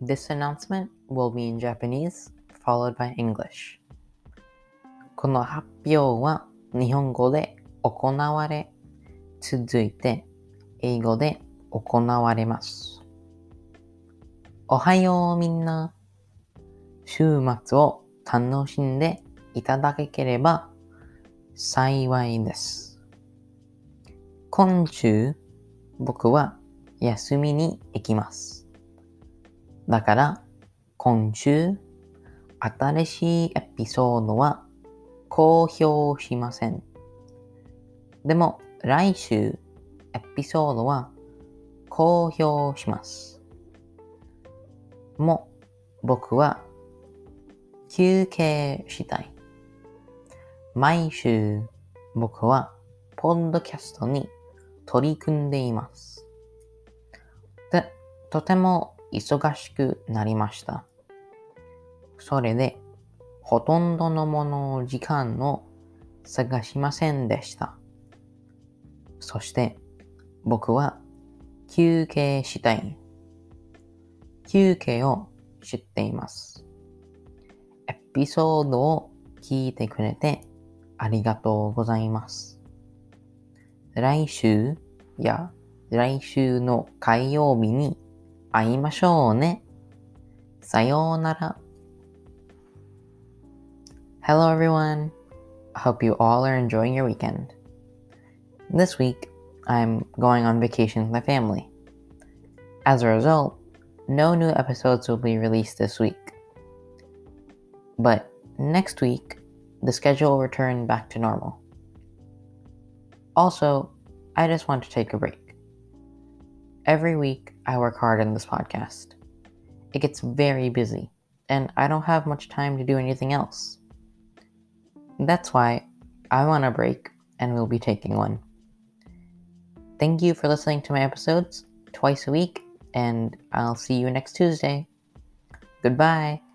This announcement will be in Japanese, followed by English. この発表は日本語で行われ、続いて英語で行われます。おはようみんな。週末を楽しんでいただければ幸いです。今週、僕は休みに行きます。だから、今週、新しいエピソードは公表しません。でも、来週、エピソードは公表します。もう、僕は休憩したい。毎週、僕はポッドキャストに取り組んでいます。で、とても忙しくなりました。それで、ほとんどのもの時間を探しませんでした。そして、僕は休憩したい。休憩を知っています。エピソードを聞いてくれてありがとうございます。来週や来週の火曜日に会いましょうね。さようなら。Hello everyone. I hope you all are enjoying your weekend. This week, I'm going on vacation with my family. As a result, no new episodes will be released this week. But next week, the schedule will return back to normal. Also, I just want to take a break. Every week, I work hard on this podcast. It gets very busy, and I don't have much time to do anything else. That's why I want a break, and we'll be taking one. Thank you for listening to my episodes twice a week, and I'll see you next Tuesday. Goodbye.